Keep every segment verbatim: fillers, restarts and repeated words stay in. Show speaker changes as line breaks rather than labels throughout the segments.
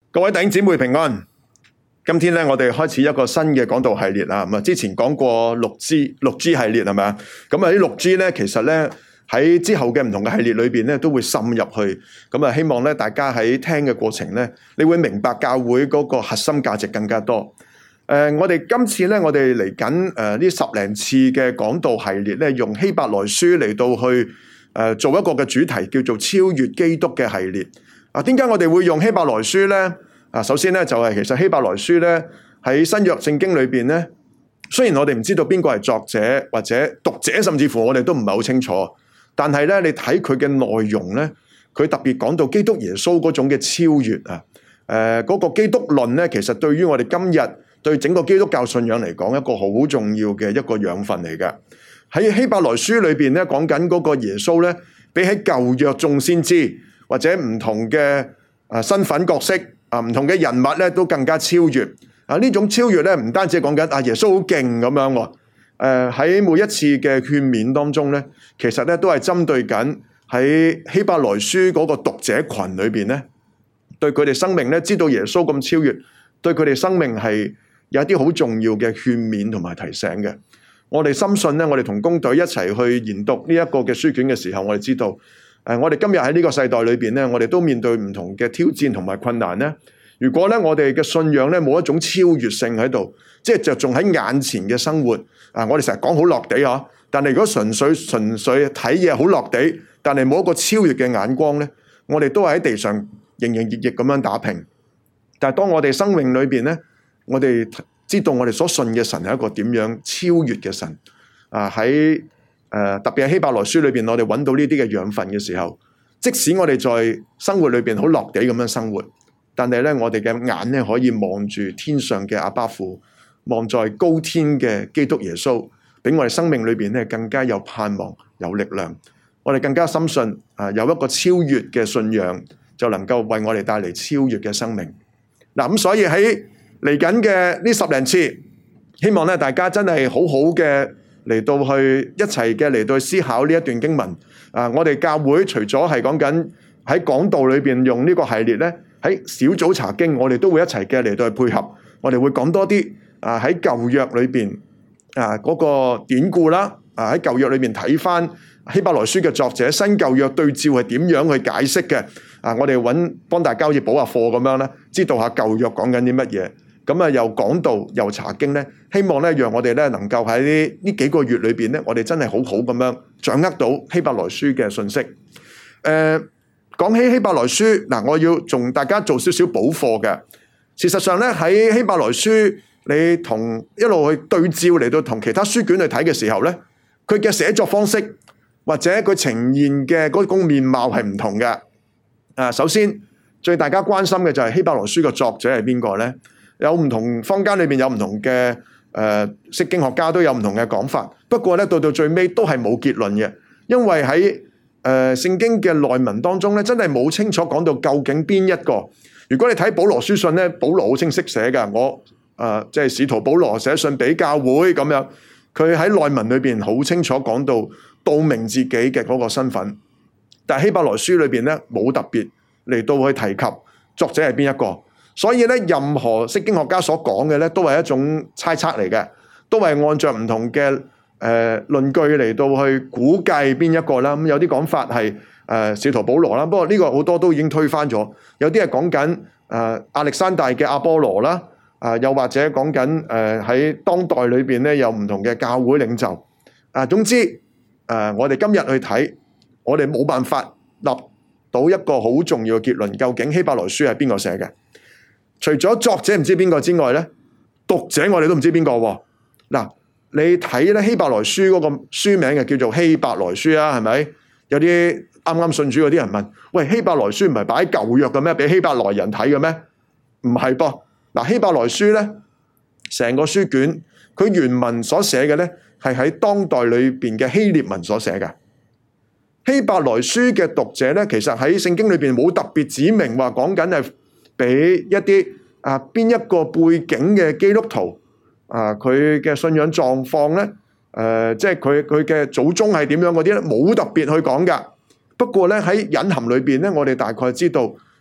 各位弟兄姊妹平安。今天咧，我哋開始一個新嘅講道系列啦。咁啊，之前講過六 G 六 G 系列係咪啊？咁啊，呢六 G 咧，其實咧喺之後嘅唔同嘅系列裏邊咧，都會滲入去。咁啊，希望咧大家喺聽嘅過程咧，你會明白教會嗰個核心價值更加多。誒、呃，我哋今次咧，我哋嚟緊誒呢十零次嘅講道系列咧，用希伯來書嚟到去誒、呃、做一個嘅主題，叫做超越基督嘅系列。啊，點解我哋會用希伯來書咧？啊，首先咧就係、是、其實希伯來書咧喺新約聖經裏邊咧，雖然我哋唔知道邊個係作者或者讀者，甚至乎我哋都唔係好清楚，但係咧你睇佢嘅內容咧，佢特別講到基督耶穌嗰種嘅超越啊，誒、呃、嗰、那個基督論咧，其實對於我哋今日對整個基督教信仰嚟講，一個好重要嘅一個養分嚟嘅。喺希伯來書裏邊咧講緊嗰個耶穌咧，比起舊約眾先知或者唔同嘅啊身份角色啊唔同嘅人物咧，都更加超越啊！呢種超越咧，唔單止係講緊啊耶穌好勁咁樣喎，誒喺每一次嘅勸勉當中咧，其實咧都係針對緊喺希伯來書嗰個讀者群裏邊咧，對佢哋生命咧知道耶穌咁超越，對佢哋生命係有一啲好重要嘅勸勉同埋提醒嘅。我哋深信咧，我哋同工隊一齊去研讀呢一個嘅書卷嘅時候，我哋知道。誒，我哋今日喺呢個世代裏邊咧，我哋都面對唔同嘅挑戰同埋困難咧。如果咧我哋嘅信仰咧冇一種超越性喺度，即係着重喺眼前嘅生活啊，我哋成日講好落地嗬。但係如果純粹純粹睇嘢好落地，但係冇一個超越嘅眼光咧，我哋都係喺地上營營役役咁樣打拼。但係當我哋生命裏邊咧，我哋知道我哋所信嘅神係一個點樣超越嘅神啊喺。誒、呃、特別係希伯來書裏邊，我哋揾到呢啲嘅養分嘅時候，即使我哋在生活裏邊好落地咁樣生活，但係咧我哋嘅眼咧可以望住天上嘅阿爸父，望在高天嘅基督耶穌，俾我哋生命裏邊咧更加有盼望、有力量。我哋更加深信啊、呃，有一個超越嘅信仰，就能夠為我哋帶嚟超越嘅生命。嗱、呃、咁，所以喺嚟緊嘅呢十零次，希望咧大家真係好好嘅。嚟到去一齊嘅嚟到去思考呢一段經文啊！我哋教會除咗係講緊喺講道裏邊用呢個系列咧，喺小組查經，我哋都會一齊嘅嚟到去配合。我哋會講多啲啊喺舊約裏邊啊嗰個典故啦，啊喺舊約裏邊睇翻希伯來書嘅作者新舊約對照係點樣去解釋嘅啊！我哋揾幫大家好似補下課咁樣咧，知道下舊約講緊啲乜嘢。咁啊，又講道又查經咧，希望咧，讓我哋咧能夠喺呢呢幾個月裏邊咧，我哋真係好好咁樣掌握到希伯來書嘅信息。誒、呃，講起希伯來書，嗱，我要同大家做少少補課嘅。事實上咧，喺希伯來書，你同一路去對照嚟到同其他書卷去睇嘅時候咧，佢嘅寫作方式或者佢呈現嘅嗰種面貌係唔同嘅。啊，首先最大家關心嘅就係希伯來書嘅作者係邊個咧？有唔同坊間裏面有唔同嘅誒釋經學家都有唔同嘅講法，不過咧到到最尾都係冇結論嘅，因為喺誒、呃、聖經嘅內文當中咧，真係冇清楚講到究竟邊一個。如果你睇保羅書信咧，保羅好清晰寫㗎，我誒即係使徒保羅寫信俾教會咁樣，佢喺內文裏邊好清楚講到道明自己嘅嗰個身份，但係希伯來書裏邊咧冇特別嚟到去提及作者係邊一個。所以咧，任何釋經學家所講嘅咧，都係一種猜測嚟嘅，都係按照唔同嘅誒、呃、論據嚟到去估計邊一個啦。咁、嗯、有啲講法係誒使徒保羅啦，不過呢個好多都已經推翻咗。有啲係講緊誒亞歷山大嘅阿波羅啦，啊、呃、又或者講緊誒喺當代裏邊咧有唔同嘅教會領袖。啊、呃，總之誒、呃，我哋今日去睇，我哋冇辦法立到一個好重要嘅結論，究竟希伯來書係邊個寫嘅？除咗作者唔知邊個之外咧，讀者我哋都唔知邊個喎。嗱，你睇咧希伯來書嗰個書名就叫做希伯來書啊，係咪？有啲啱啱信主嗰啲人問：喂，希伯來書唔係擺喺舊約嘅咩？俾希伯來人睇嘅咩？唔係噃。嗱，希伯來書咧，成個書卷佢原文所寫嘅咧，係喺當代裏邊嘅希臘文所寫嘅。希伯來書嘅讀者咧，其實喺聖經裏邊冇特別指明話講緊係。俾一啲啊邊一個背景嘅基督徒啊，佢嘅信仰狀況咧，誒、呃，即係佢佢嘅祖宗係點樣嗰啲咧，冇特別去講噶。不過咧喺隱含裏邊咧，我哋大概知道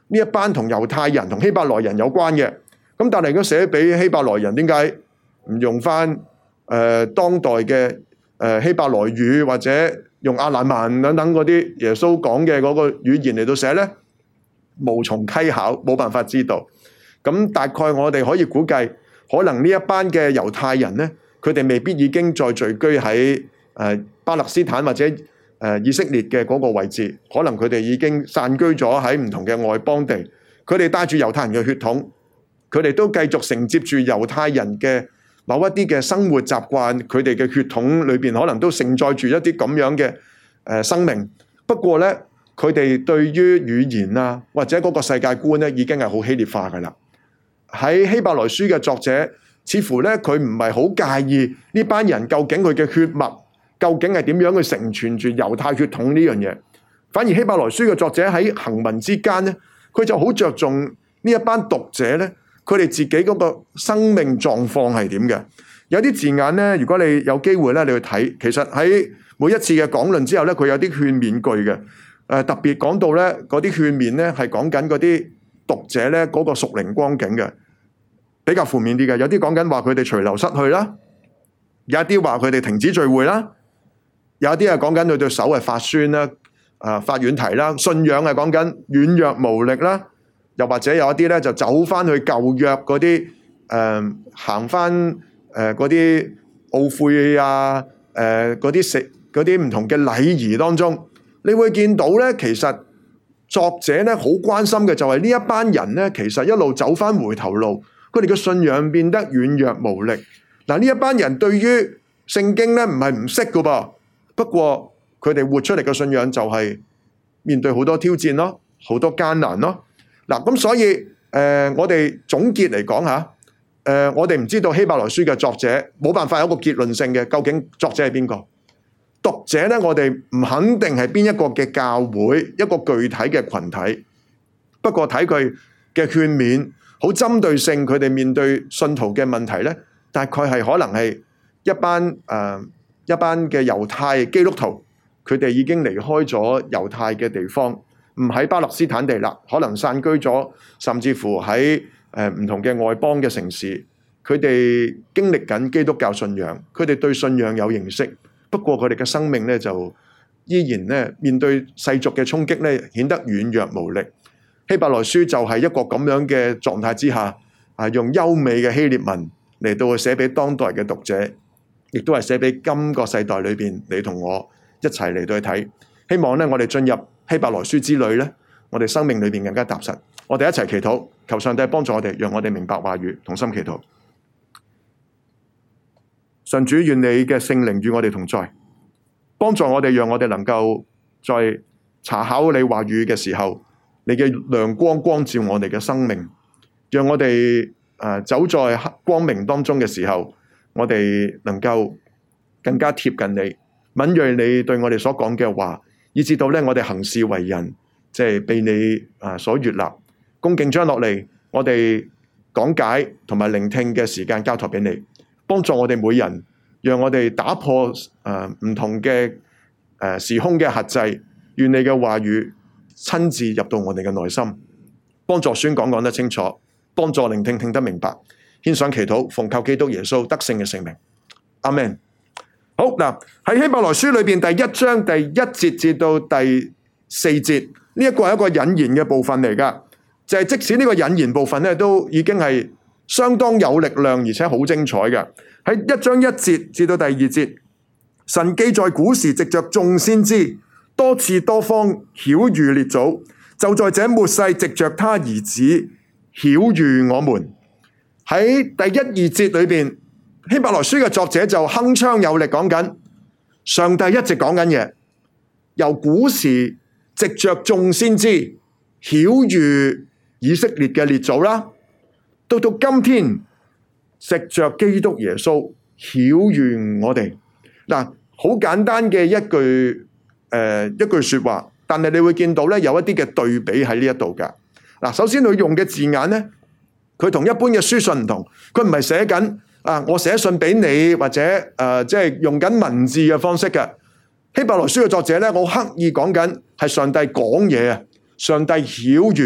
呢一班同猶太人同希伯來人有關嘅。咁但係如果寫俾希伯來人，點解唔用翻誒、呃、當代嘅誒、呃、希伯來語或者用亞蘭文等等嗰啲耶穌講嘅嗰個語言嚟到寫呢？無從稽考，冇辦法知道。咁大概我哋可以估計，可能呢一班嘅猶太人呢，佢哋未必已經再聚居喺誒、呃、巴勒斯坦或者誒、呃、以色列嘅嗰個位置，可能佢哋已經散居咗喺唔同嘅外邦地。佢哋帶住猶太人嘅血統，佢哋都繼續承接住猶太人嘅某一啲嘅生活習慣，佢哋嘅血統裏邊可能都承載住一啲咁樣嘅誒生命。不過呢，佢哋對於語言啊或者嗰個世界觀呢，已經係好希臘化噶啦。喺希伯來書嘅作者，似乎呢，佢唔係好介意呢班人究竟佢嘅血脈究竟係點樣去承傳住猶太血統呢樣嘢。反而希伯來書嘅作者喺行文之間呢，佢就好着重呢一班讀者呢，佢哋自己嗰個生命狀況係點嘅。有啲字眼呢，如果你有機會咧，你去睇，其實喺每一次嘅講論之後呢，佢有啲勸勉句嘅。誒、呃、特別講到呢嗰啲勸勉呢，係講緊嗰啲讀者呢嗰個屬靈光景嘅，比較負面啲嘅。有啲講緊話佢哋隨流失去啦，有一啲話佢哋停止聚會啦，有一啲係講緊佢對手係發酸啦。啊！發軟蹄啦，信仰係講緊軟弱無力啦，又或者有一啲咧就走翻去舊約嗰啲誒行翻誒嗰啲懊悔啊誒嗰啲食嗰啲唔同嘅禮儀當中，你會見到咧，其實作者咧好關心嘅就係呢一班人咧，其實一路走翻回頭路，佢哋嘅信仰變得軟弱無力。嗱，呢一班人對於聖經咧唔係唔識噶噃，不過佢哋活出嚟嘅信仰就係面對好多挑戰咯，好多艱難咯。嗱，咁所以誒、呃，我哋總結嚟講吓，誒、呃，我哋唔知道希伯來書嘅作者冇辦法有一個結論性嘅，究竟作者係邊個？讀者咧，我哋唔肯定係邊一個嘅教會，一個具體嘅群體。不過睇佢嘅勸勉，好針對性，佢哋面對信徒嘅問題咧，大概係可能係一班誒、呃、一班嘅猶太基督徒。佢哋已經離開咗猶太嘅地方，唔喺巴勒斯坦地啦，可能散居咗，甚至乎喺誒唔同嘅外邦嘅城市。佢哋經歷緊基督教信仰，佢哋對信仰有認識，不過佢哋嘅生命咧就依然咧面對世俗嘅衝擊咧，顯得軟弱無力。希伯來書就係一個咁樣嘅狀態之下，啊用優美嘅希臘文嚟到去寫俾當代嘅讀者，亦都係寫俾今個世代裏邊你同我一齊嚟到去睇，希望咧我哋進入希伯來書之旅咧，我哋生命裏邊更加踏實。我哋一齊祈禱，求上帝幫助我哋，讓我哋明白話語，同心祈禱。神主，願你嘅聖靈與我哋同在，幫助我哋，讓我哋能夠在查考你話語嘅時候，你嘅亮光光照我哋嘅生命，讓我哋誒、呃、走在黑光明當中嘅時候，我哋能夠更加貼近你。敏銳你對我哋所講嘅話，以至到咧我哋行事為人，即係被你啊所悅納。恭敬將落嚟，我哋講解同埋聆聽嘅時間交託俾你，幫助我哋每人，讓我哋打破誒唔同嘅誒時空嘅轄制，願你嘅話語親自入到我哋嘅內心，幫助宣講講得清楚，幫助聆聽聽得明白。獻上祈禱，奉靠基督耶穌得勝嘅聖名，阿們。好嗱，喺希伯來書裏邊第一章第一節至到第四節，呢一個係一個引言嘅部分嚟噶，就係即使呢個引言部分咧，都已經係相當有力量，而且好精彩嘅。喺一章一節至到第二節，神既在古時藉着眾先知多次多方曉諭列祖，就在這末世藉着他兒子曉諭我們。喺第一二節裏邊，希伯來書嘅作者就鏗鏘有力講緊，上帝一直講緊嘢，由古時藉着眾先知曉諭以色列嘅列祖啦，到到今天藉着基督耶穌曉諭我哋。嗱，好簡單嘅一句誒、呃、一句說話，但係你會見到咧有一啲嘅對比喺呢一度噶。嗱，首先佢用嘅字眼咧，佢同一般嘅書信唔同，佢唔係寫緊啊，我寫信俾你或者誒，即係用緊文字嘅方式嘅。希伯來書嘅作者咧，我刻意講緊係上帝講嘢啊，上帝曉諭，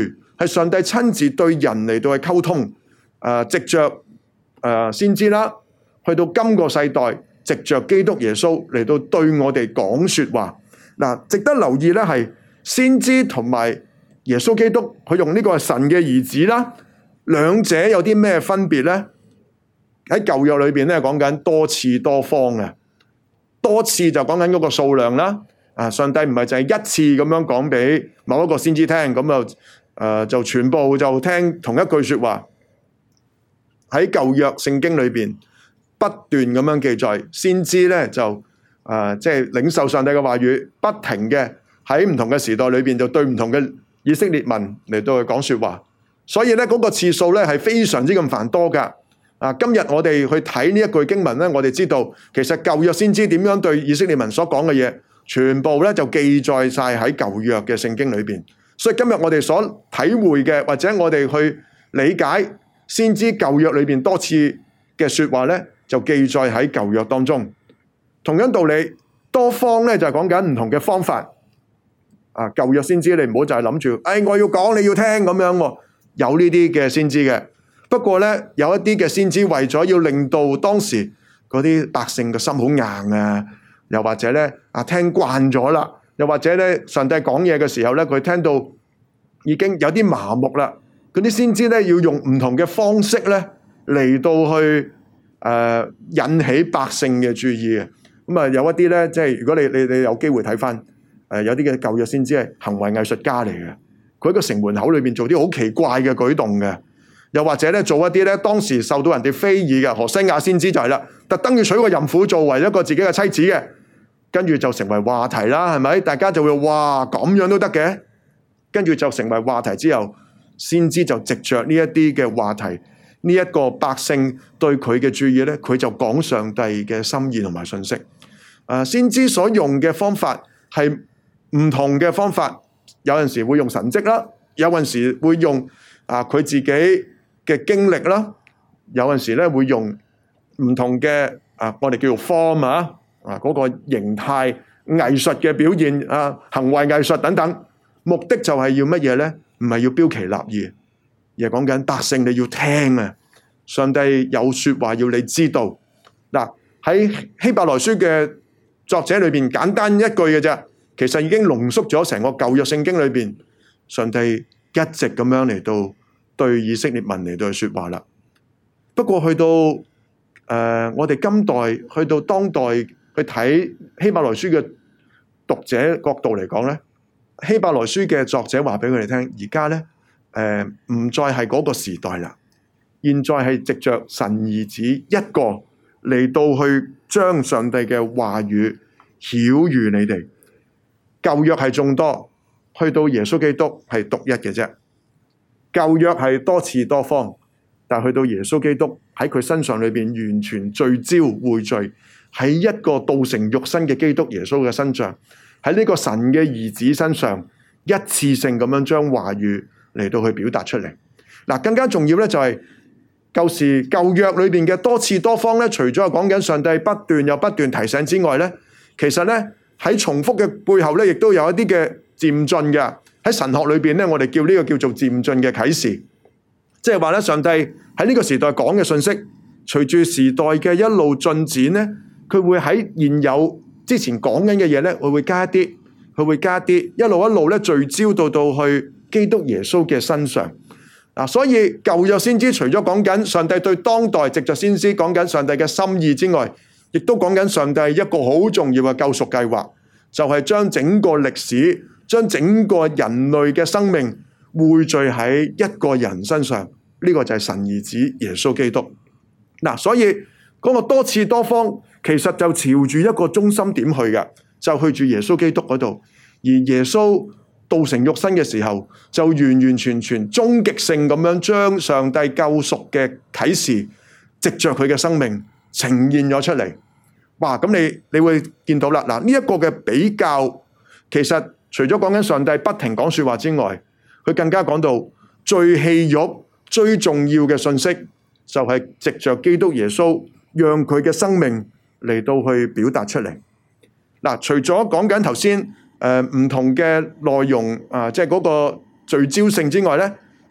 係上帝親自對人嚟到去溝通，誒、呃，藉着誒、呃、先知啦，去到今個世代，藉着基督耶穌嚟到對我哋講說話。嗱，值得留意咧係先知同埋耶穌基督，佢用呢個係神嘅兒子啦，兩者有啲咩分別咧？喺舊約裏邊咧講緊多次多方嘅，多次就講緊嗰個數量啦。啊，上帝唔係就係一次咁樣講俾某一個先知聽，咁就誒就全部就聽同一句說話。喺舊約聖經裏邊不斷咁樣記載，先知咧就誒即係領受上帝嘅話語，不停嘅喺唔同嘅時代裏邊就對唔同嘅以色列民嚟到去講說話。所以咧嗰個次數咧係非常之咁繁多噶。啊，今日我哋去睇呢一句經文咧，我哋知道其實舊約先知點樣對以色列民所講嘅嘢，全部咧就記載晒喺舊約嘅聖經裏邊。所以今日我哋所體會嘅，或者我哋去理解先知舊約裏邊多次嘅說話咧，就記載喺舊約當中。同樣道理，多方咧就係講緊唔同嘅方法。啊，舊約先知你唔好就係諗住，誒我要講你要聽咁樣喎，有呢啲嘅先知嘅。不過咧，有一啲嘅先知為咗要令到當時嗰啲百姓嘅心好硬啊，又或者咧啊聽慣咗啦，又或者咧上帝講嘢嘅時候咧，佢聽到已經有啲麻木啦，嗰啲先知咧要用唔同嘅方式咧嚟到去誒、呃、引起百姓嘅注意嘅。咁啊有一啲咧，即係如果你你你有機會睇翻誒有啲嘅舊約先知係行為藝術家嚟嘅，佢喺個城門口裏邊做啲好奇怪嘅舉動嘅。又或者咧做一啲咧當時受到人哋非議嘅，何西亞先知就係啦，特登要娶個淫婦作為一個自己嘅妻子嘅，跟住就成為話題啦，係咪？大家就會哇咁樣都得嘅，跟住就成為話題之後，先知就藉着呢一啲嘅話題，呢、這、一個百姓對佢嘅注意咧，佢就講上帝嘅心意同埋信息。誒，先知所用嘅方法係唔同嘅方法，有陣時會用神蹟啦，有陣時會用啊佢自己嘅經歷啦，有陣時咧會用唔同嘅啊，我哋叫做 form 啊，啊嗰個形態藝術嘅表現啊，行為藝術等等，目的就係要乜嘢咧？唔係要標奇立異，而係講緊百姓你要聽啊！上帝有說話要你知道。嗱，喺希伯來書嘅作者裏邊簡單一句嘅啫，其實已經濃縮咗成個舊約聖經裏邊，上帝一直咁樣嚟到對以色列民嚟到去說話啦。不過去到誒、呃、我哋今代去到當代去睇希伯來書嘅讀者角度嚟講咧，希伯來書嘅作者話俾佢哋聽，而家咧誒唔再係嗰個時代啦，現在係藉着神兒子一個嚟到去將上帝嘅話語曉諭你哋。舊約係眾多，去到耶穌基督係獨一嘅啫。舊約係多次多方，但去到耶穌基督喺佢身上裏邊完全聚焦匯聚喺一個道成肉身嘅基督耶穌嘅身上，喺呢個神嘅兒子身上一次性咁樣將話語嚟到去表達出嚟。嗱，更加重要咧就係舊時舊約裏邊嘅多次多方咧，除咗係講緊上帝不斷又不斷提醒之外咧，其實咧喺重複嘅背後咧，亦都有一啲嘅漸進嘅。喺神學裏邊咧，我哋叫呢個叫做漸進嘅啟示，即係話咧，上帝喺呢個時代講嘅信息，隨住時代嘅一路進展咧，佢會喺現有之前講緊嘅嘢咧，佢會加一啲，佢會加一啲，一路一路咧聚焦到到去基督耶穌嘅身上。嗱，所以舊約先知除咗講緊上帝對當代藉着先知講緊上帝嘅心意之外，亦都講緊上帝一個好重要嘅救贖計劃，就係將整個歷史，將整個人類嘅生命匯聚喺一個人身上，呢個就係神兒子耶穌基督。嗱，所以嗰個多次多方，其實就朝住一個中心點去嘅，就去住耶穌基督嗰度。而耶穌道成肉身嘅時候，就完完全全終極性咁樣將上帝救贖嘅啟示，藉着佢嘅生命呈現咗出嚟。哇！咁你你會見到啦，嗱，呢一個嘅比較，其實除咗講緊上帝不停講說話之外，佢更加講到最戲肉、最重要嘅信息，就係藉着基督耶穌，讓佢嘅生命嚟到去表達出嚟。嗱，除咗講緊頭先誒唔同嘅內容啊，即係嗰個聚焦性之外咧，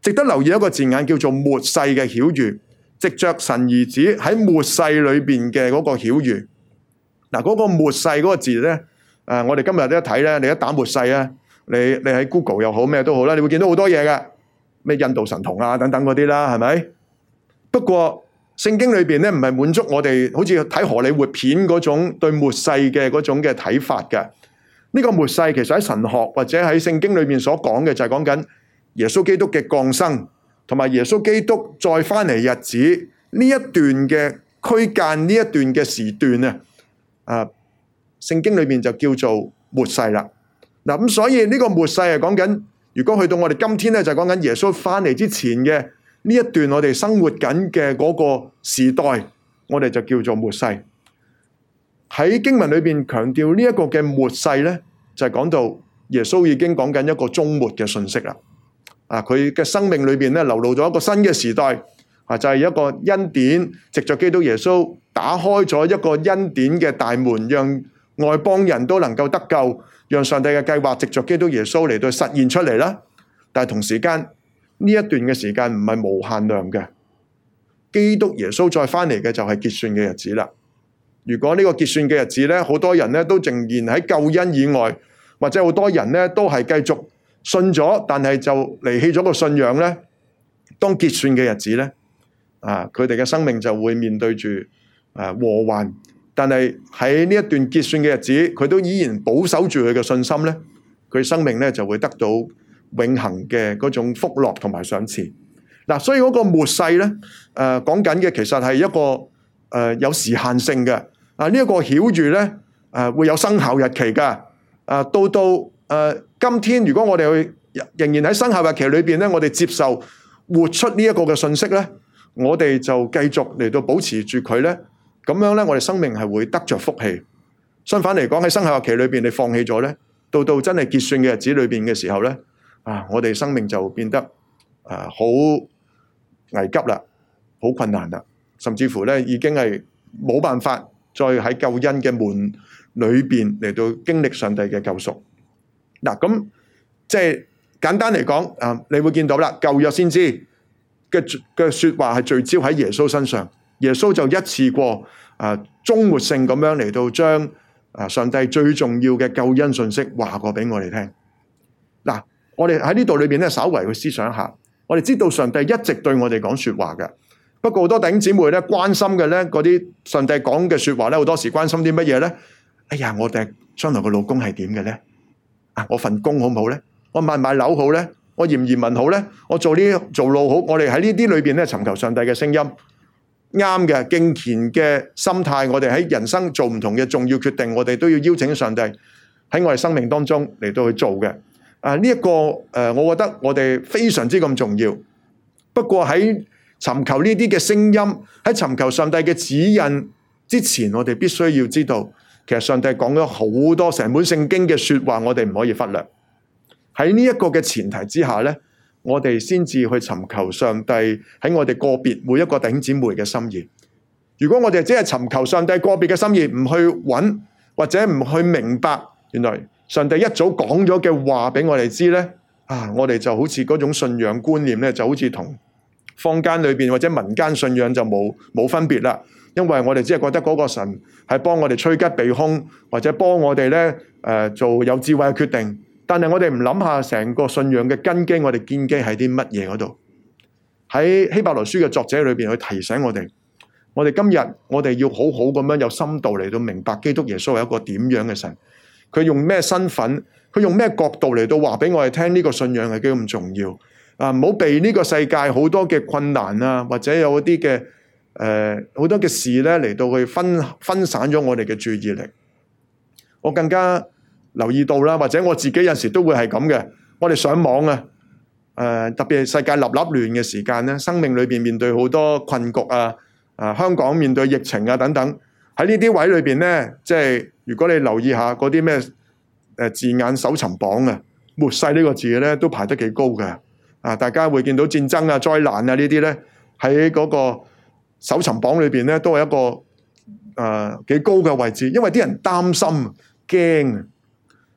值得留意一個字眼叫做末世嘅曉諭，藉着神兒子喺末世裏邊嘅嗰個曉諭。嗱，嗰個末世嗰個字咧，誒，我哋今日都一睇咧，你一打末世啊，你你喺 Google 又好咩都好啦，你會見到好多嘢嘅，咩印度神童啊等等嗰啲啦，係咪？不過聖經裏邊咧唔係滿足我哋好似睇荷里活片嗰種對末世嘅嗰種嘅睇法嘅。呢個末世其實喺神學或者喺聖經裏面所講嘅就係講緊耶穌基督嘅降生，同埋耶穌基督再翻嚟日子呢一段嘅區間，呢一段嘅時段啊，啊，聖經裏面就叫做末世啦。嗱，咁所以呢個末世係講緊，如果去到我哋今天咧，就係講緊耶穌翻嚟之前嘅呢一段我哋生活緊嘅嗰個時代，我哋就叫做末世。喺經文裏邊強調呢一個嘅末世咧，就係講到耶穌已經講緊一個終末嘅信息啦。啊，佢嘅生命裏邊咧流露咗一個新嘅時代，啊，就係一個恩典，藉着基督耶穌打開咗一個恩典嘅大門，讓外邦人都能夠得救，讓上帝嘅計劃藉着基督耶穌嚟到實現出嚟啦。但係同時間呢一段嘅時間唔係無限量嘅，基督耶穌再翻嚟嘅就係結算嘅日子啦。如果呢個結算嘅日子咧，好多人咧都仍然喺救恩以外，或者好多人咧都係繼續信咗，但係就離棄咗個信仰咧。當結算嘅日子咧，啊，佢哋嘅生命就會面對住啊禍患。但係喺呢一段結算嘅日子，佢都依然保守住佢嘅信心咧，佢生命咧就會得到永恆嘅嗰種福樂同埋賞賜。嗱、啊，所以嗰個末世咧，誒講緊嘅其實係一個誒、呃、有時限性嘅。啊！呢、這、一個曉諭咧，誒、啊、會有生效日期㗎。啊，到到誒、啊、今天，如果我哋去仍然喺生效日期裏邊咧，我哋接受活出呢一個嘅信息咧，我哋就繼續嚟到保持住佢咧。咁樣咧，我哋生命係會得着福氣。相反嚟講，喺生效日期裏邊你放棄咗咧，到到真係結算嘅日子裏邊嘅時候咧，啊，我哋生命就變得啊好危急啦，好困難啦，甚至乎咧已經係冇辦法再喺救恩嘅門裏邊嚟到經歷上帝嘅救贖。嗱，咁即係簡單嚟講，啊，你會見到啦，舊約先知嘅嘅說話係聚焦喺耶穌身上，耶穌就一次過啊終末性咁樣嚟到將啊上帝最重要嘅救恩信息話過俾我哋聽。嗱，我哋喺呢度裏邊咧，稍為去思想一下，我哋知道上帝一直對我哋講說話嘅。不過好多弟兄姊妹咧關心嘅咧，嗰啲上帝講嘅說話咧，好多時關心啲乜嘢咧？哎呀，我哋將來個老公係點嘅咧？啊，我份工好唔好咧？我買唔買樓好咧？我移唔移民好咧？我做呢做路好？我哋喺呢啲裏邊咧尋求上帝嘅聲音，啱嘅敬虔嘅心態，我哋喺人生做唔同嘅重要決定，我哋都要邀請上帝喺我哋生命當中嚟到去做嘅。啊，呢一個誒，我覺得我哋非常之咁重要。不過喺尋求呢啲嘅聲音，喺尋求上帝嘅指引之前，我哋必須要知道，其實上帝講咗好多成本聖經嘅說話，我哋唔可以忽略。喺呢一個嘅前提之下咧，我哋先至去尋求上帝喺我哋個別每一個弟兄姊妹嘅心意。如果我哋只係尋求上帝個別嘅心意，唔去揾或者唔去明白，原來上帝一早講咗嘅話俾我哋知咧，啊，我哋就好似嗰種信仰觀念咧，就好似同坊間裏邊或者民間信仰就冇冇分別啦，因為我哋只係覺得嗰個神係幫我哋趨吉避凶，或者幫我哋咧誒做有智慧嘅決定。但係我哋唔諗下成個信仰嘅根基，我哋建基喺啲乜嘢嗰度？喺希伯來書嘅作者裏邊去提醒我哋，我哋今日我哋要好好咁樣有深度嚟到明白基督耶穌係一個點樣嘅神，佢用咩身份，佢用咩角度嚟到話俾我哋聽呢個信仰係幾咁重要。啊！唔好被呢個世界好多嘅困難啊，或者有啲嘅誒好多嘅事咧嚟到去分分散咗我哋嘅注意力。我更加留意到啦，或者我自己有時都會係咁嘅。我哋上網啊，誒、呃、特別係世界立立亂嘅時間咧，生命裏邊面，面對好多困局啊，啊香港面對疫情啊等等，喺呢啲位裏邊咧，即係如果你留意下嗰啲咩誒字眼搜尋榜啊，末世呢個字咧都排得幾高嘅。啊！大家會見到戰爭啊、災難啊呢啲咧，喺嗰個搜尋榜裏邊咧，都係一個誒幾、呃、高嘅位置，因為啲人擔心、驚啊！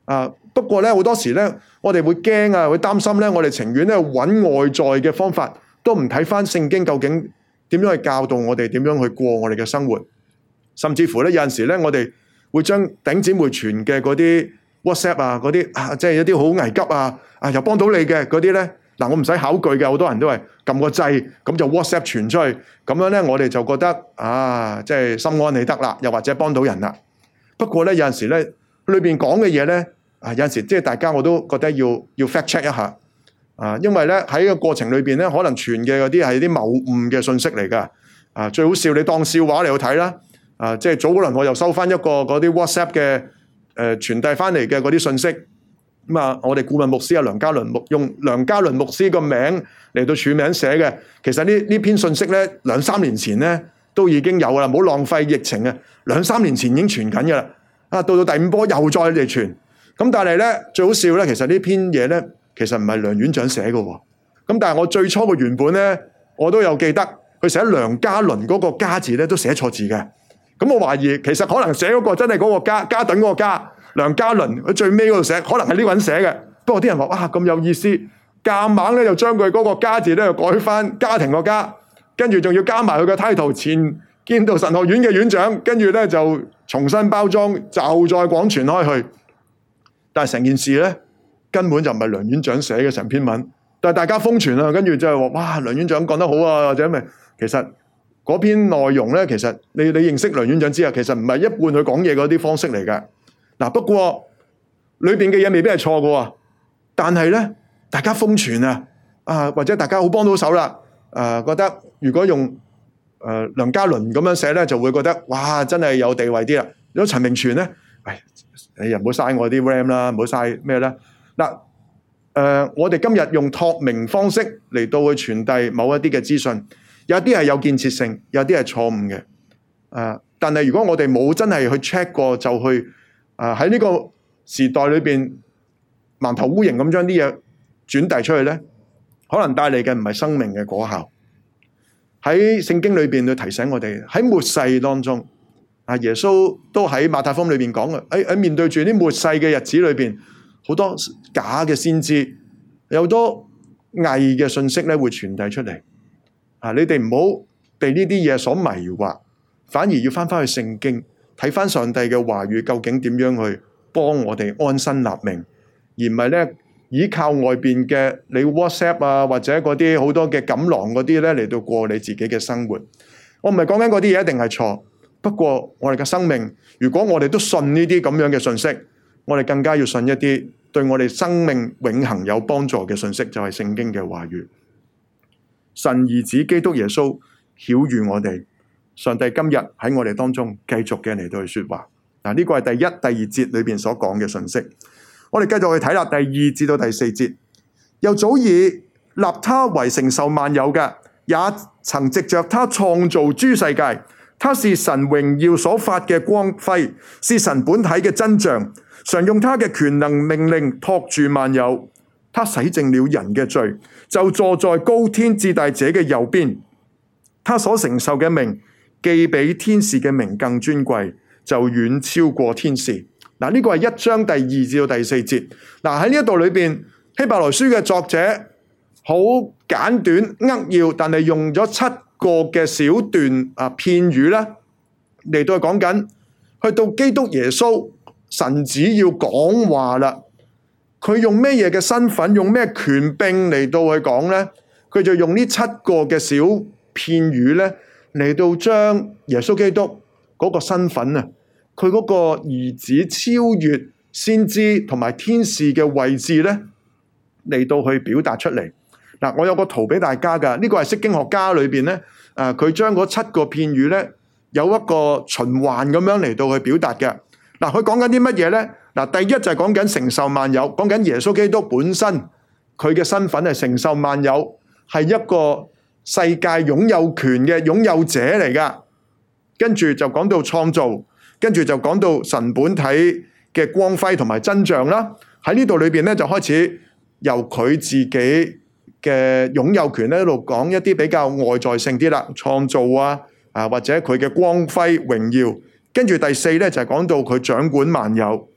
不過咧好多時咧，我哋會驚啊，會擔心咧，我哋情願咧揾外在嘅方法，都唔睇翻聖經究竟點樣去教導我哋，點樣去過我哋嘅生活。甚至乎咧有陣時咧，我哋會將頂姊妹傳嘅嗰啲 WhatsApp 啊，嗰啲啊，即係一啲好危急啊，啊又幫到你嘅嗰啲咧，嗱我唔使考據嘅，好多人都係撳個掣，咁就 WhatsApp 傳出去，咁樣咧我哋就覺得啊，即係心安理得啦，又或者幫到人啦。不過咧有陣時咧，裏邊講嘅嘢咧，啊有陣時即係大家我都覺得要要 fact check 一下，啊因為咧喺個過程裏邊咧，可能傳嘅嗰啲係啲謬誤嘅信息嚟噶，啊最好笑你當笑話嚟去睇啦。啊！即係早嗰輪我又收翻一個嗰啲 WhatsApp 嘅誒、呃、傳遞翻嚟嘅嗰啲信息，咁、嗯、啊，我哋顧問牧師啊梁家倫牧用梁家倫牧師個名嚟到署名寫嘅。其實呢呢篇信息咧兩三年前咧都已經有啦，唔好浪費疫情啊！兩三年前已經傳緊噶啦，啊到到第五波又再嚟傳，咁但係咧最好笑咧，其實呢篇嘢咧其實唔係梁院長寫嘅喎，咁但係我最初嘅原本咧我都有記得，佢寫梁家倫嗰個家字咧都寫錯字嘅。咁我懷疑其實可能寫嗰個真係嗰個家家躉嗰個家梁家倫，佢最尾嗰度寫可能係呢個人寫嘅。不過啲人話哇咁有意思，夾硬咧就將佢嗰個家字咧就改翻家庭個家，跟住仲要加埋佢個 title 前建道神學院嘅院長，跟住咧就重新包裝，就再廣傳開去。但係成件事咧根本就唔係梁院長寫嘅成篇文，但係大家瘋傳啊，跟住就係話哇梁院長講得好啊，或者咪其實。嗰篇內容咧，其實你你認識梁院長之後，其實唔係一般佢講嘢嗰啲方式嚟嘅。嗱，不過裏邊嘅嘢未必係錯嘅喎，但係咧，大家瘋傳啊，啊或者大家好幫到手啦，誒、啊、覺得如果用誒、呃、梁家倫咁樣寫咧，就會覺得哇真係有地位啲啦。如果陳明全咧，唉，你又唔好嘥我啲 RAM 啦，唔好嘥咩啦。嗱，誒、呃、我哋今日用託名方式嚟到去傳遞某一啲嘅資訊。有啲係有建設性，有啲係錯誤嘅。啊！但係如果我哋冇真係去 check 過，就去啊喺呢個時代裏邊盲頭烏蠅咁將啲嘢轉遞出去咧，可能帶嚟嘅唔係生命嘅果效。喺聖經裏邊去提醒我哋，喺末世當中，啊耶穌都喺馬太福音裏邊講嘅，喺喺面對住啲末世嘅日子裏邊，好多假嘅先知，有好多偽嘅信息咧會傳遞出嚟。啊！你哋唔好被呢啲嘢所迷惑，反而要翻翻去聖經睇翻上帝嘅話語，究竟點樣去幫我哋安身立命，而唔係咧依靠外邊嘅你 WhatsApp 啊，或者嗰啲好多嘅錦囊嗰啲咧嚟到過你自己嘅生活。我唔係講緊嗰啲嘢一定係錯，不過我哋嘅生命，如果我哋都信呢啲咁樣嘅信息，我哋更加要信一啲對我哋生命永恆有幫助嘅信息，就係聖經嘅話語。神兒子基督耶穌曉諭我哋，上帝今日喺我哋當中繼續嘅嚟到去說話。嗱，呢個係第一、第二節裏邊所講嘅信息。我哋繼續去睇啦，第二至到第四節，又早已立他為承受萬有嘅，也曾藉着他創造諸世界。他是神榮耀所發嘅光輝，是神本體嘅真像，常用他嘅權能命令托住萬有。他洗淨了人嘅罪，就坐在高天至大者嘅右邊。他所承受嘅名，既比天使嘅名更尊貴，就遠超過天使。嗱，呢個係一章第二至到第四節。嗱，喺呢一度裏邊，希伯來書嘅作者好簡短扼要，但係用咗七個嘅小段啊片語咧嚟到講緊，去到基督耶穌神子要講話啦。佢用咩嘢嘅身份，用咩權柄嚟到去講呢？佢就用呢七個嘅小片語呢嚟到將耶穌基督嗰個身份啊，佢嗰個兒子超越先知同埋天使嘅位置呢嚟到去表達出嚟。嗱，我有個圖俾大家噶，呢個係釋經學家裏邊呢，誒，佢將嗰七個片語呢有一個循環咁樣嚟到去表達嘅。嗱，佢講緊啲乜嘢呢？嗱，第一就係講緊承受萬有，講緊耶穌基督本身佢嘅身份係承受萬有，係一個世界擁有權嘅擁有者嚟噶。跟住就講到創造，跟住就講到神本體嘅光輝同埋真相啦。喺呢度裏邊咧，就開始由佢自己嘅擁有權咧，一路講一啲比較外在性啲啦，創造啊，啊或者佢嘅光輝榮耀。跟住第四咧就係講到佢掌管萬有。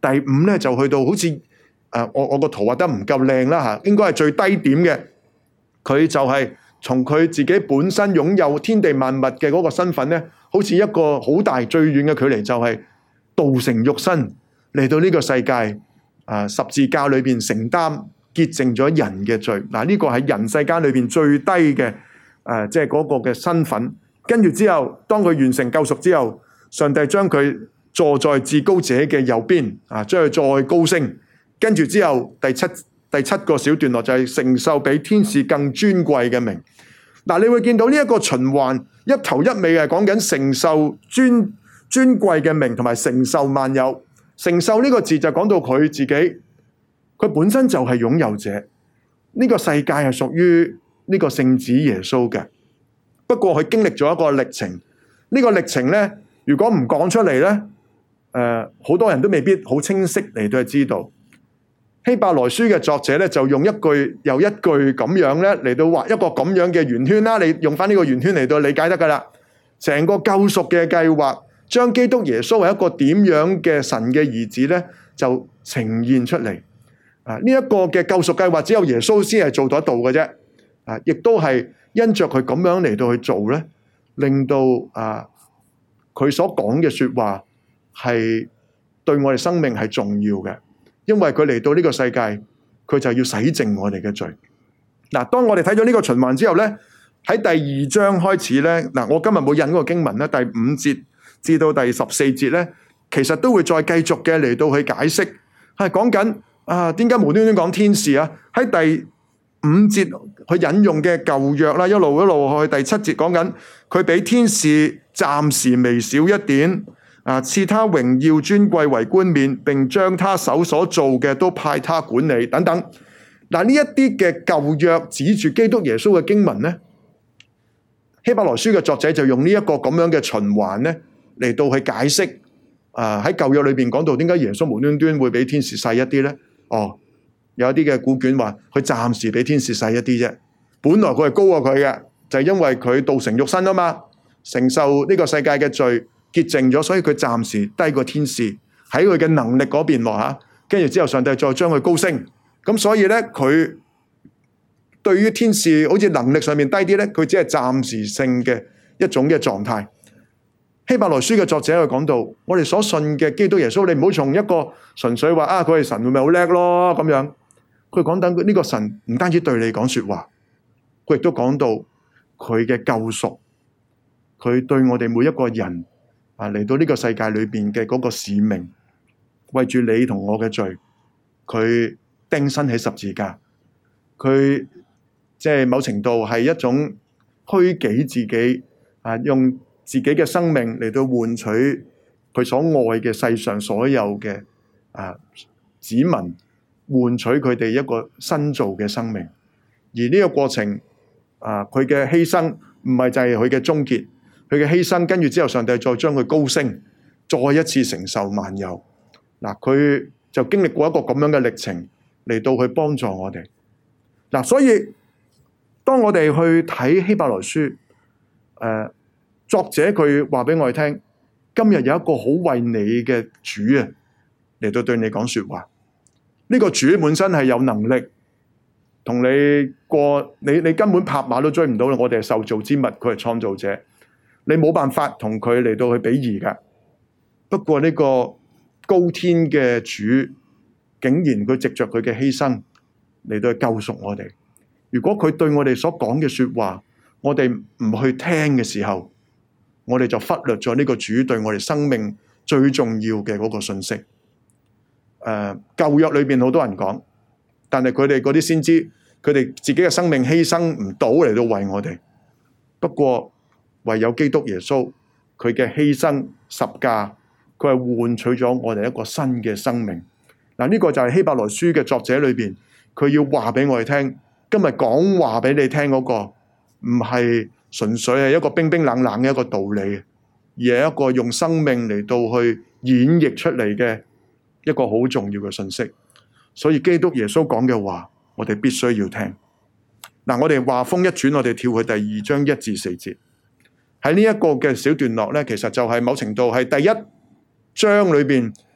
第五咧就去到好似誒、呃、我我個圖畫得唔夠靚啦嚇，應該係最低點嘅。佢就係從佢自己本身擁有天地萬物嘅嗰個身份咧，好似一個好大最遠嘅距離，就係道成肉身嚟到呢個世界啊、呃、十字架裏邊承擔潔淨咗人嘅罪。嗱、呃、呢、這個係人世間裏邊最低嘅誒，即係嗰個嘅身份。跟住之後，當佢完成救贖之後，上帝將佢坐在至高者嘅右邊，啊，將佢再高升。跟住之後，第七第七個小段落就係承受比天使更尊貴嘅名。嗱、啊，你會見到呢一個循環一頭一尾係講緊承受尊尊貴嘅名，同埋承受萬有。承受呢個字就講到佢自己，佢本身就係擁有者。呢、這個世界係屬於呢個聖子耶穌嘅。不過佢經歷咗一個歷程，呢、這個歷程呢，如果唔講出嚟呢，誒、呃，好多人都未必好清晰嚟到去知道。希伯來書嘅作者呢，就用一句又一句咁樣呢嚟到畫一個咁樣嘅圓圈啦。你用翻呢個圓圈嚟到理解得噶啦。成個救贖嘅計劃，將基督耶穌為一個點樣嘅神嘅兒子呢，就呈現出嚟。啊，呢、這、一個嘅救贖計劃只有耶穌先係做得到嘅啫。啊，亦都係。因着佢咁樣嚟到去做咧，令到啊佢所講嘅說話係對我哋生命係重要嘅，因為佢嚟到呢個世界，佢就要洗淨我哋嘅罪。嗱，當我哋睇咗呢個循環之後咧，喺第二章開始咧，嗱，我今日冇引嗰個經文咧，第五節至到第十四節咧，其實都會再繼續嘅嚟到去解釋，係講緊啊點解無端端講天使啊？喺第五節佢引用嘅舊約啦，一路一路去第七節講緊佢比天使暫時微小一點，啊，賜他榮耀尊貴為冠冕，並將他手所做嘅都派他管理等等。嗱，呢一啲嘅舊約指住基督耶穌嘅經文呢，希伯來書嘅作者就用呢一個咁樣嘅循環呢嚟到去解釋。啊，喺舊約裏邊講到點解耶穌無端端會比天使細一啲呢？哦。有一啲嘅古卷話，佢暫時比天使細一啲啫。本來佢係高過佢嘅，就係因為佢道成肉身啊嘛，承受呢個世界嘅罪潔淨咗，所以佢暫時低過天使喺佢嘅能力嗰邊落吓。跟住之後，上帝再將佢高升，咁所以咧，佢對於天使好似能力上面低啲咧，佢只係暫時性嘅一種嘅狀態。希伯來書嘅作者佢講到，我哋所信嘅基督耶穌，你唔好從一個純粹話啊，佢係神，會咪好叻咯咁樣。佢講緊呢個神唔單止對你講說話，佢亦都講到佢嘅救贖，佢對我哋每一個人啊嚟到呢個世界裏邊嘅嗰個使命，為住你同我嘅罪，佢釘身喺十字架，佢即係某程度係一種虛己自己啊，用自己嘅生命嚟到換取佢所愛嘅世上所有嘅啊子民，換取佢哋一個新造嘅生命。而呢個過程啊，佢嘅犧牲唔係就係佢嘅終結，佢嘅犧牲跟住之後，上帝再將佢高升，再一次承受萬有。嗱，佢就經歷過一個咁樣嘅歷程嚟到去幫助我哋。嗱，所以當我哋去睇希伯來書，誒，作者佢話俾我哋聽，今日有一個好為你嘅主啊，嚟到對你講說話。呢個主本身係有能力同你過，你你根本拍馬都追唔到。我哋係受造之物，佢係創造者，你冇辦法同佢嚟到去比擬噶。不過呢個高天嘅主，竟然佢藉着佢嘅犧牲嚟到去救贖我哋。如果佢對我哋所講嘅說話，我哋唔去聽嘅時候，我哋就忽略咗呢個主對我哋生命最重要嘅嗰個信息。誒、uh, 舊約裏邊好多人講，但係佢哋嗰啲先知，佢哋自己嘅生命犧牲唔到嚟到為我哋。不過唯有基督耶穌，佢嘅犧牲十架，佢係換取咗我哋一個新嘅生命。嗱，呢個就係希伯來書嘅作者裏邊，佢要話俾我哋聽。今日講話俾你聽嗰個，唔係純粹係一個冰冰冷冷嘅一個道理，而係一個用生命嚟到去演繹出嚟嘅一個好重要嘅信息。所以基督耶穌講嘅話，我哋必須要聽。嗱，我哋話風一轉，我哋跳去第二章一至四節。喺呢一個嘅小段落咧，其實就係某程度係第一章裏邊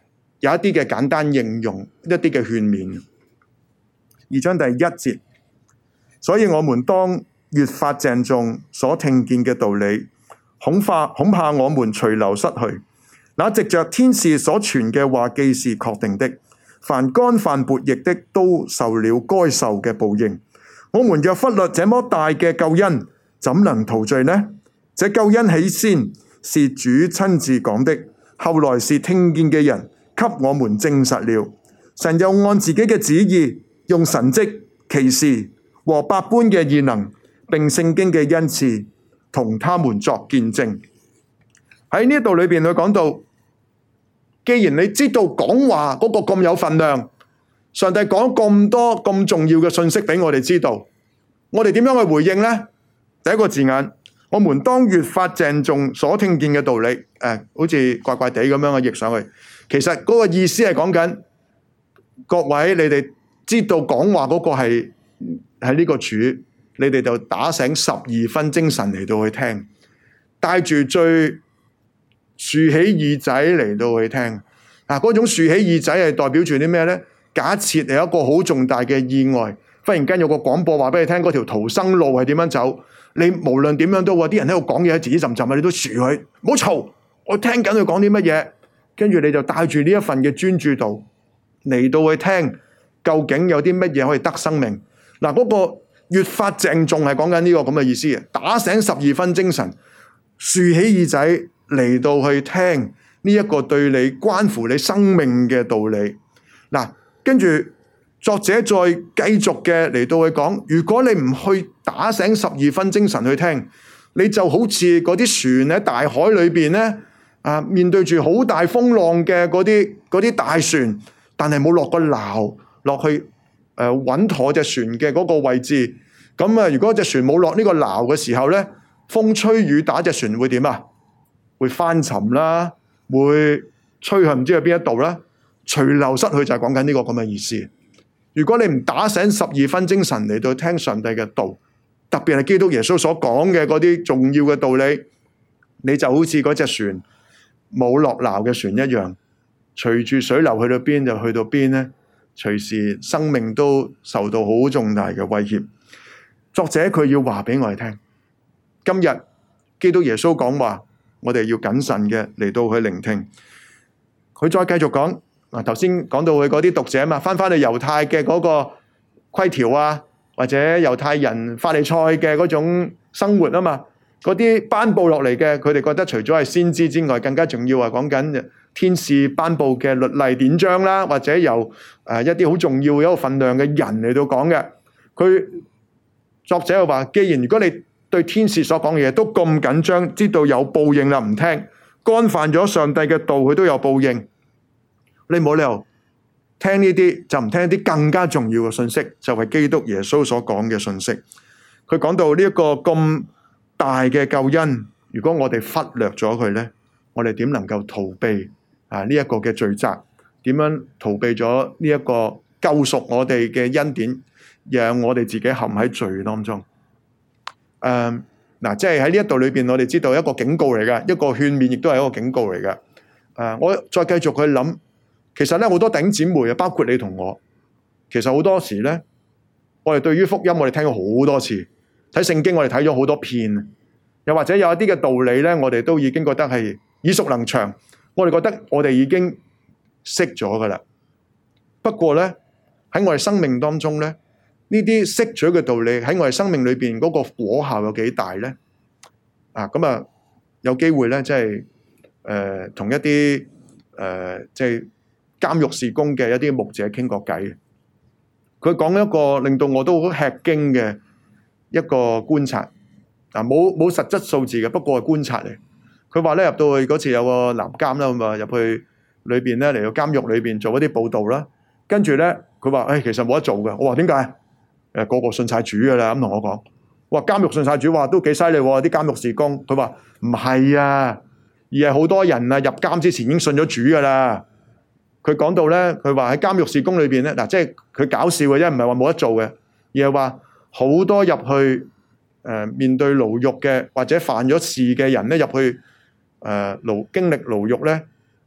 有一啲嘅簡單應用，一啲嘅勸勉。二章第一節，所以我們當越發鄭重所聽見嘅道理，恐怕恐怕我們隨流失去。那藉着天使所傳嘅話，既是確定的，凡干犯悖逆的，都受了該受嘅報應。我們若忽略這麼大嘅救恩，怎能逃罪呢？這救恩起先是主親自講的，後來是聽見嘅人給我們證實了。神又按自己嘅旨意，用神蹟、奇事和百般嘅異能，並聖經嘅恩賜，同他們作見證。喺呢度裏邊，佢講到，既然你知道講話嗰個咁有分量，上帝講咁多咁重要嘅信息俾我哋知道，我哋點樣去回應呢？第一個字眼，我們當越發鄭重所聽見嘅道理。誒、呃，好似怪怪地咁樣嘅譯上去，其實嗰個意思係講緊各位，你哋知道講話嗰個係係呢個主，你哋就打醒十二分精神嚟到去聽，帶住最豎起耳仔嚟到去聽。嗱，嗰種豎起耳仔係代表住啲咩呢？假設有一個好重大嘅意外，忽然間有個廣播話俾你聽，嗰條逃生路係點樣走？你無論點樣都話，啲人喺度講嘢，自己浸浸啊，你都豎佢，唔好嘈，我聽緊佢講啲乜嘢。跟住你就帶住呢一份嘅專注度嚟到去聽，究竟有啲乜嘢可以得生命？嗱，嗰個越發鄭重係講緊呢個咁嘅意思嘅，打醒十二分精神，豎起耳仔嚟到去聽呢一個對你關乎你生命嘅道理。嗱，跟住作者再繼續嘅嚟到去講，如果你唔去打醒十二分精神去聽，你就好似嗰啲船喺大海裏邊咧，啊，面對住好大風浪嘅嗰啲嗰啲大船，但係冇落個錨落去誒穩、呃、妥隻船嘅嗰個位置。咁啊，如果隻船冇落呢個錨嘅時候咧，風吹雨打，隻船會點啊？會翻沉啦，會吹去唔知去邊一度啦，隨流失去，就係講緊呢個咁嘅意思。如果你唔打醒十二分精神嚟到聽上帝嘅道，特別係基督耶穌所講嘅嗰啲重要嘅道理，你就好似嗰隻船冇落錨嘅船一樣，隨住水流去到邊就去到邊咧，隨時生命都受到好重大嘅威脅。作者佢要話俾我哋聽，今日基督耶穌講話，我哋要謹慎嘅嚟到去聆聽。佢再繼續講，嗱，頭先講到佢嗰啲讀者啊嘛，翻翻去猶太嘅嗰個規條啊，或者猶太人法利賽嘅嗰種生活啊嘛，嗰啲頒布落嚟嘅，佢哋覺得除咗係先知之外，更加重要係講緊天使頒布嘅律例典章啦，或者由誒一啲好重要一個份量嘅人嚟到講嘅。佢作者又話，既然如果你對天使所講嘅嘢都咁緊張，知道有報應啦，唔聽，干犯咗上帝嘅道，佢都有報應，你冇理由聽呢啲就唔聽啲更加重要嘅信息，就係基督耶穌所講嘅信息。佢講到呢一個咁大嘅救恩，如果我哋忽略咗佢呢，我哋點能夠逃避啊呢一個嘅罪責？點樣逃避咗呢一個救贖我哋嘅恩典，讓我哋自己陷喺罪當中？誒，嗱，即係喺呢一度裏邊，我哋知道一個警告嚟嘅，一個勸勉，亦都係一個警告嚟嘅。誒、呃，我再繼續去諗，其實咧好多弟兄姊妹啊，包括你同我，其實好多時咧，我哋對於福音，我哋聽咗好多次，睇聖經，我哋睇咗好多遍，又或者有一啲嘅道理咧，我哋都已經覺得係耳熟能詳，我哋覺得我哋已經識咗噶啦。不過咧，喺我哋生命當中咧，呢啲識咗嘅道理喺我哋生命裏邊嗰個果效有幾大呢？啊，咁啊，有機會咧，即係誒同一啲誒即係監獄事工嘅一啲牧者傾過偈。佢講一個令到我都好吃驚嘅一個觀察。啊，冇冇實質數字嘅，不過係觀察嚟。佢話咧，入到去嗰次有個男監啦，咁啊入去裏邊咧，嚟到監獄裏邊做一啲報道啦。跟住咧，佢話誒其實冇得做嘅。我話點解？誒個個信晒主噶啦，咁同我講，話監獄信晒主，話都幾犀利喎，啲監獄事工。佢話唔係啊，而係好多人啊入監之前已經信咗主噶啦。佢講到咧，佢話喺監獄事工裏邊咧，嗱，即係佢搞笑嘅啫，唔係話冇得做嘅，而係話好多入去誒、呃、面對牢獄嘅或者犯咗事嘅人咧，入去誒牢經歷牢獄咧，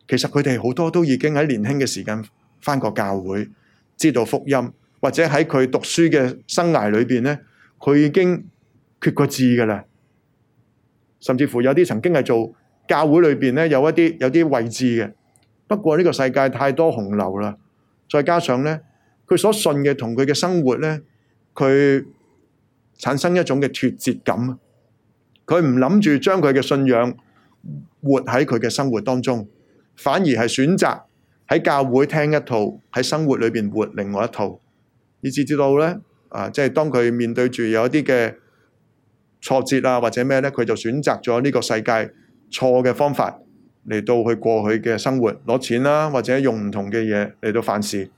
其實佢哋好多都已經喺年輕嘅時間返過教會，知道福音，或者喺佢讀書嘅生涯裏邊咧，佢已經決過志㗎喇。甚至乎有啲曾經係做教會裏邊咧，有一啲有啲位置嘅。不過呢個世界太多洪流啦，再加上咧，佢所信嘅同佢嘅生活咧，佢產生一種嘅脫節感。佢唔諗住將佢嘅信仰活喺佢嘅生活當中，反而係選擇喺教會聽一套，喺生活裏邊活另外一套，以至知道咧啊，即係當佢面對住有一啲嘅挫折啊或者咩咧，佢就選擇咗呢個世界錯嘅方法嚟到去過佢嘅生活，攞錢啦，或者用唔同嘅嘢嚟到犯事。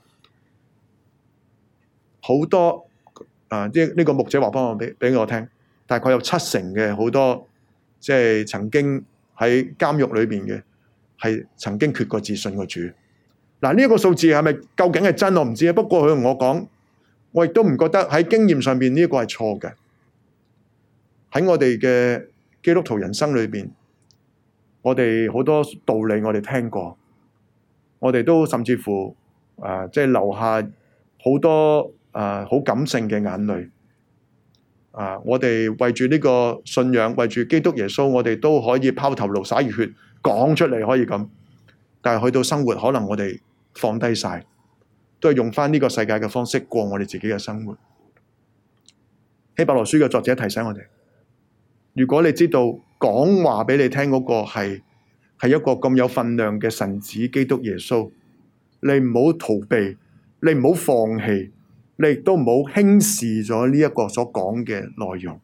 好多啊，呢、這、呢個牧者話幫我俾俾我聽。大概有七成嘅好多，即係曾經喺監獄裏邊嘅，係曾經決過志信過主。嗱，呢一個數字係咪究竟係真我唔知啊。不過佢同我講，我亦都唔覺得喺經驗上邊呢一個係錯嘅。喺我哋嘅基督徒人生裏邊，我哋好多道理我哋聽過，我哋都甚至乎啊，即係留下好多啊好感性嘅眼淚。啊！我哋為住呢個信仰，為住基督耶穌，我哋都可以拋頭顱灑熱血講出嚟，可以咁。但係去到生活，可能我哋放低晒，都係用翻呢個世界嘅方式過我哋自己嘅生活。希伯來書嘅作者提醒我哋：如果你知道講話俾你聽嗰個係係一個咁有分量嘅神子基督耶穌，你唔好逃避，你唔好放棄。你亦都唔好輕視咗呢一個所講嘅內容。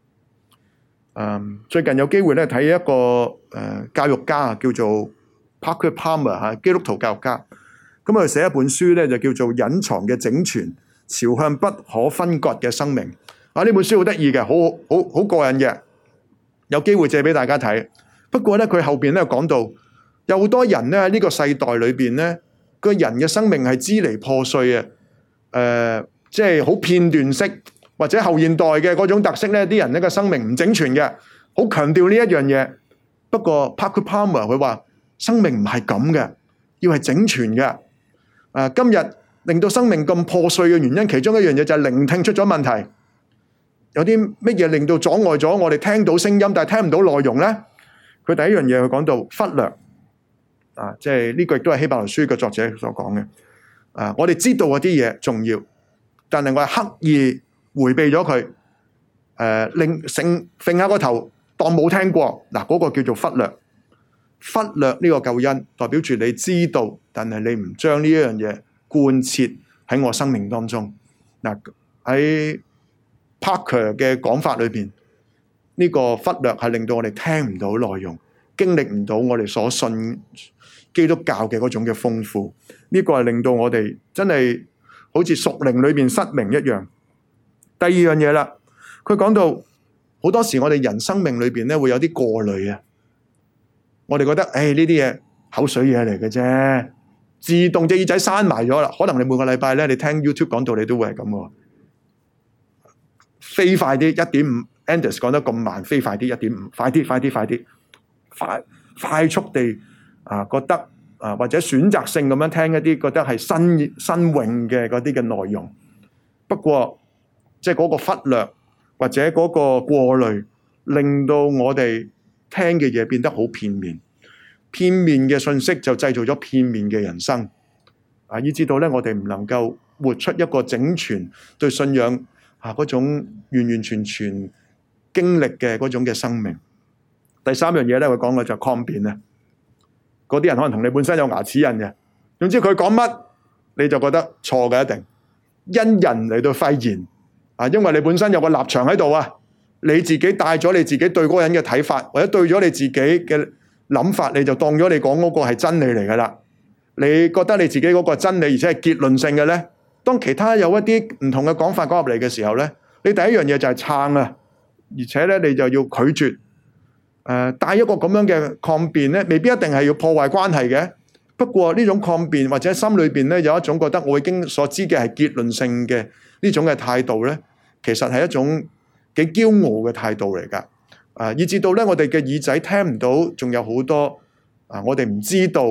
嗯，最近有機會咧睇一個誒、呃、教育家啊，叫做 Parker Palmer 嚇，基督徒教育家。咁佢寫一本書咧，就叫做《隱藏嘅整全：朝向不可分割嘅生命》。啊，呢本書好得意嘅，好好好過癮嘅，有機會借俾大家睇。不過咧，佢後邊咧講到有好多人咧喺呢個世代裏邊咧，個人嘅生命係支離破碎啊！誒、呃，即係好片段式或者後現代嘅嗰種特色咧，啲人呢個生命唔整全嘅，好強調呢一樣嘢。不過 Parker Palmer 佢話生命唔係咁嘅，要係整全嘅。誒、呃，今日令到生命咁破碎嘅原因，其中一樣嘢就係聆聽出咗問題。有啲乜嘢令到阻礙咗我哋聽到聲音，但係聽唔到內容咧？佢第一樣嘢佢講到忽略啊，即係呢個亦都係希伯來書嘅作者所講嘅。啊！我哋知道嗰啲嘢重要，但係我係刻意迴避咗佢，誒、呃，令醒揈下個頭當冇聽過。嗱、啊，嗰、那個叫做忽略，忽略呢個救恩，代表住你知道，但係你唔將呢一樣嘢貫徹喺我生命當中。嗱、啊，喺 Parker 嘅講法裏邊，呢、這個忽略係令到我哋聽唔到內容，經歷唔到我哋所信基督教嘅嗰種嘅豐富，呢、這個係令到我哋真係好似屬靈裏邊失明一樣。第二樣嘢啦，佢講到好多時我哋人生命裏邊咧會有啲過濾啊，我哋覺得誒呢啲嘢口水嘢嚟嘅啫，自動隻耳仔閂埋咗啦。可能你每個禮拜咧，你聽 YouTube 講道，你都會係咁嘅，飛快啲一點五 Anders 講得咁慢，飛快啲一點五，快啲快啲快啲，快快速地。啊，覺得啊，或者選擇性咁樣聽一啲覺得係新新穎嘅嗰啲嘅內容。不過，即係嗰個忽略或者嗰個過濾，令到我哋聽嘅嘢變得好片面。片面嘅信息就製造咗片面嘅人生。啊，以至到咧，我哋唔能夠活出一個整全對信仰啊嗰種完完全全經歷嘅嗰種嘅生命。第三樣嘢咧，佢講嘅就係抗辯啊。嗰啲人可能同你本身有牙齒印嘅，總之佢講乜你就覺得錯嘅一定，因人嚟到廢言啊，因為你本身有個立場喺度啊，你自己帶咗你自己對嗰個人嘅睇法，或者對咗你自己嘅諗法，你就當咗你講嗰個係真理嚟噶啦。你覺得你自己嗰個真理而且係結論性嘅咧，當其他有一啲唔同嘅講法講入嚟嘅時候咧，你第一樣嘢就係撐啊，而且咧你就要拒絕。誒，帶一個咁樣嘅抗辯咧，未必一定係要破壞關係嘅。不過呢種抗辯或者心裏邊咧有一種覺得我已經所知嘅係結論性嘅呢種嘅態度咧，其實係一種幾驕傲嘅態度嚟噶。啊，以至到咧我哋嘅耳仔聽唔到，仲有好多啊，我哋唔知道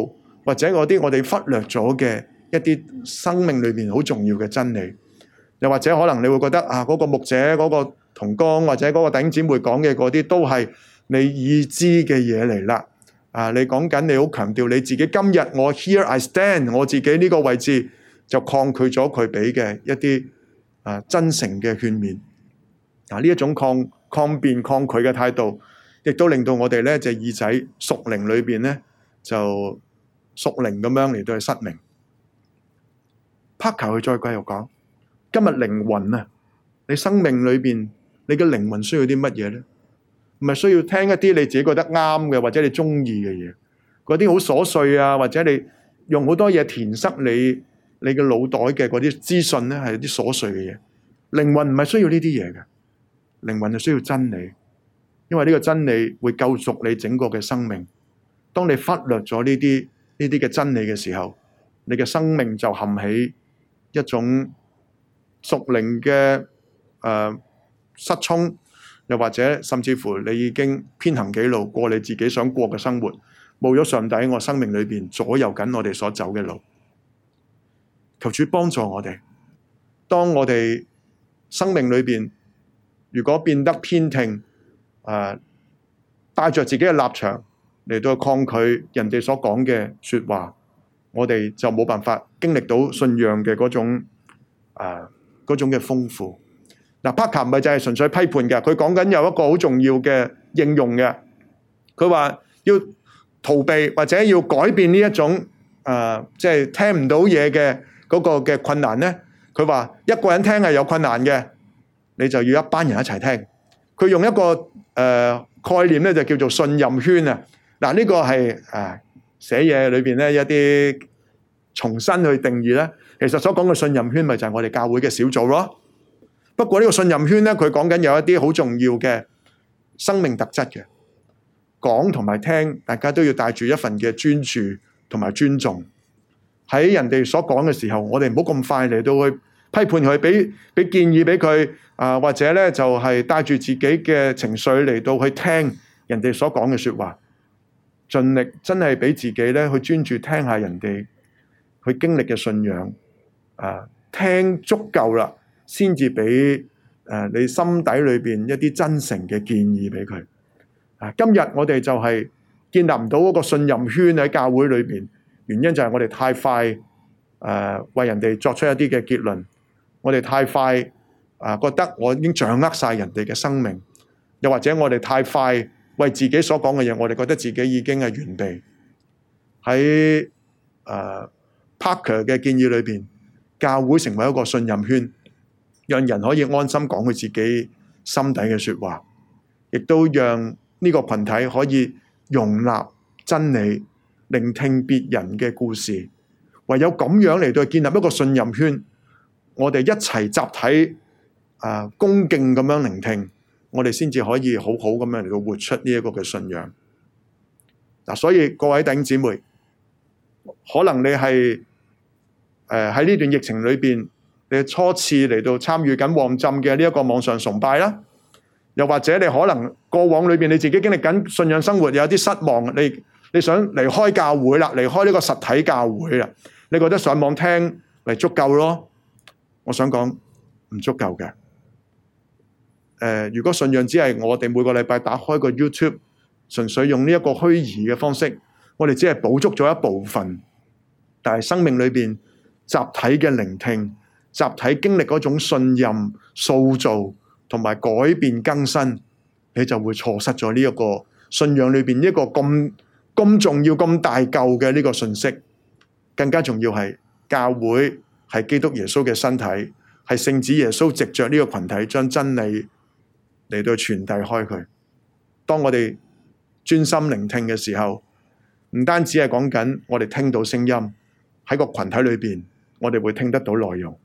或者嗰啲我哋忽略咗嘅一啲生命裏面好重要嘅真理。又或者可能你會覺得啊，嗰個牧者、嗰個同工或者嗰個弟兄姊妹講嘅嗰啲都係你已知嘅嘢嚟啦。啊，你講緊你好強調你自己今日我 here I stand， 我自己呢個位置就抗拒咗佢俾嘅一啲啊真誠嘅勸勉。啊，呢一種抗抗辯抗拒嘅態度，亦都令到我哋咧隻耳仔屬靈裏邊咧就屬靈咁樣嚟到去失明。Parker 佢再繼續講。今日靈魂啊，你生命裏邊，你嘅靈魂需要啲乜嘢咧？唔係需要聽一啲你自己覺得啱嘅，或者你中意嘅嘢，嗰啲好瑣碎啊，或者你用好多嘢填塞你你嘅腦袋嘅嗰啲資訊咧，係啲瑣碎嘅嘢。靈魂唔係需要呢啲嘢嘅，靈魂係需要真理，因為呢個真理會救贖你整個嘅生命。當你忽略咗呢啲呢啲嘅真理嘅時候，你嘅生命就陷喺一種屬靈嘅誒失聰，又或者甚至乎你已經偏行己路，過你自己想過嘅生活，冇咗上帝喺我生命裏邊左右緊我哋所走嘅路。求主幫助我哋，當我哋生命裏邊如果變得偏聽，誒帶着自己嘅立場嚟到抗拒人哋所講嘅說話，我哋就冇辦法經歷到信仰嘅嗰種誒。呃嗰種嘅豐富。嗱，Parker唔係就係純粹批判嘅，佢講緊有一個好重要嘅應用嘅。佢話要逃避或者要改變呢一種誒，即係聽唔到嘢嘅嗰個嘅困難咧。佢話一個人聽係有困難嘅，你就要一班人一齊聽。佢用一個誒、呃、概念咧，就叫做信任圈啊。嗱，呢個係誒寫嘢裏邊咧一啲重新去定義咧。其實所講嘅信任圈咪就係我哋教會嘅小組咯。不過呢個信任圈咧，佢講緊有一啲好重要嘅生命特質嘅，講同埋聽，大家都要帶住一份嘅專注同埋尊重。喺人哋所講嘅時候，我哋唔好咁快嚟到去批判佢，俾俾建議俾佢啊，或者咧就係帶住自己嘅情緒嚟到去聽人哋所講嘅說話，盡力真係俾自己咧去專注聽下人哋去經歷嘅信仰。啊，聽足夠啦，先至俾誒你心底裏邊一啲真誠嘅建議俾佢。啊，今日我哋就係建立唔到嗰個信任圈喺教會裏邊，原因就係我哋太快誒、呃、為人哋作出一啲嘅結論，我哋太快啊、呃、覺得我已經掌握晒人哋嘅生命，又或者我哋太快為自己所講嘅嘢，我哋覺得自己已經係完備。喺誒、呃、Parker 嘅建議裏邊，教會成為一個信任圈，讓人可以安心講佢自己心底嘅說話，亦都讓呢個群體可以容納真理，聆聽別人嘅故事。唯有咁樣嚟到建立一個信任圈，我哋一齊集體啊、呃、恭敬咁樣聆聽，我哋先至可以好好咁樣嚟到活出呢一個嘅信仰。嗱、啊，所以各位弟兄姊妹，可能你係誒喺呢段疫情裏邊，你初次嚟到參與緊旺浸嘅呢一個網上崇拜啦，又或者你可能過往裏邊你自己經歷緊信仰生活有啲失望，你你想離開教會啦，離開呢個實體教會啦，你覺得上網聽咪足夠咯？我想講唔足夠嘅。誒、呃，如果信仰只係我哋每個禮拜打開個 YouTube， 純粹用呢一個虛擬嘅方式，我哋只係補足咗一部分，但係生命裏邊集體嘅聆聽、集體經歷嗰種信任、塑造同埋改變更新，你就會錯失咗呢一個信仰裏邊一個咁咁重要、咁大嚿嘅呢個信息。更加重要係教會係基督耶穌嘅身體，係聖子耶穌藉着呢個群體將真理嚟到傳遞開佢。當我哋專心聆聽嘅時候，唔單止係講緊我哋聽到聲音喺個群體裏邊，我哋會聽得到內容。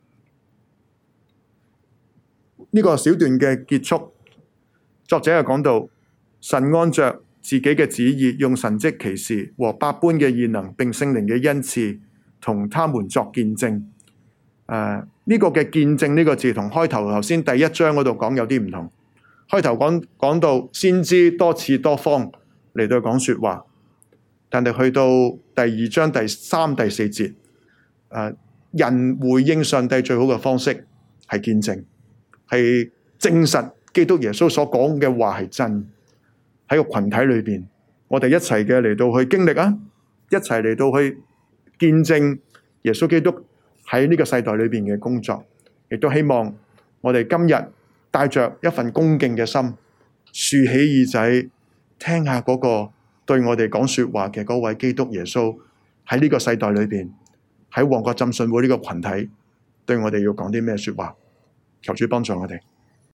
呢個小段嘅結束，作者係講到神按着自己嘅旨意，用神蹟奇事和百般嘅異能，並聖靈嘅恩賜，同他們作見證。誒、呃，呢、這個嘅見證呢個字，同開頭頭先第一章嗰度講有啲唔同。開頭講講到先知多次多方嚟到講說話， 但係去到第二章第三、第四節，誒，人回應上帝最好嘅方式係見證，係證實基督耶穌所講嘅話係真。喺個群體裏邊，我哋一齊嘅嚟到去經歷啊，一齊嚟到去見證耶穌基督喺呢個世代裏邊嘅工作，亦都希望我哋今日帶着一份恭敬嘅心，豎起耳仔聽下嗰個對我哋講說話嘅嗰位基督耶穌喺呢個世代裏邊，喺旺角浸信會呢個群體對我哋要講啲咩說話。求主幫助我哋。